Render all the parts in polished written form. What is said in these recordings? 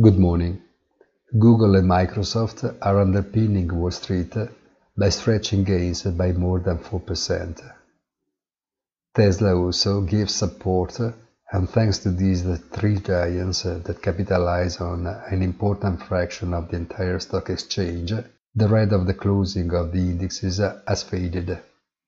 Good morning. Google and Microsoft are underpinning Wall Street by stretching gains by more than 4%. Tesla also gives support, and thanks to these three giants that capitalize on an important fraction of the entire stock exchange, the red of the closing of the indexes has faded.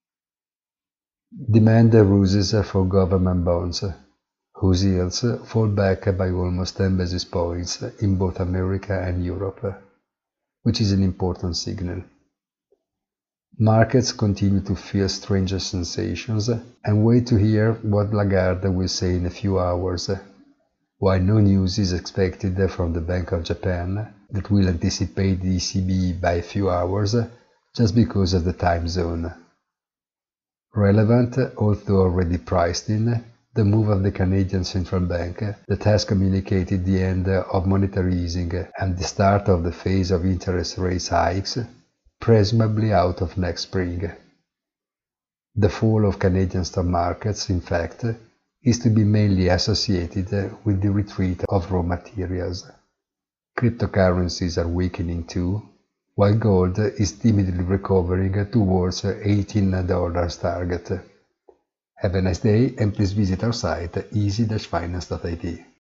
Demand rises for government bonds, whose yields fall back by almost 10 basis points in both America and Europe, which is an important signal. Markets continue to feel strange sensations and wait to hear what Lagarde will say in a few hours, while no news is expected from the Bank of Japan, that will anticipate the ECB by a few hours just because of the time zone. Relevant, although already priced in, the move of the Canadian Central Bank that has communicated the end of monetary easing and the start of the phase of interest rate hikes, presumably out of next spring. The fall of Canadian stock markets, in fact, is to be mainly associated with the retreat of raw materials. Cryptocurrencies are weakening too, while gold is timidly recovering towards $18 target. Have a nice day and please visit our site easy-finance.it.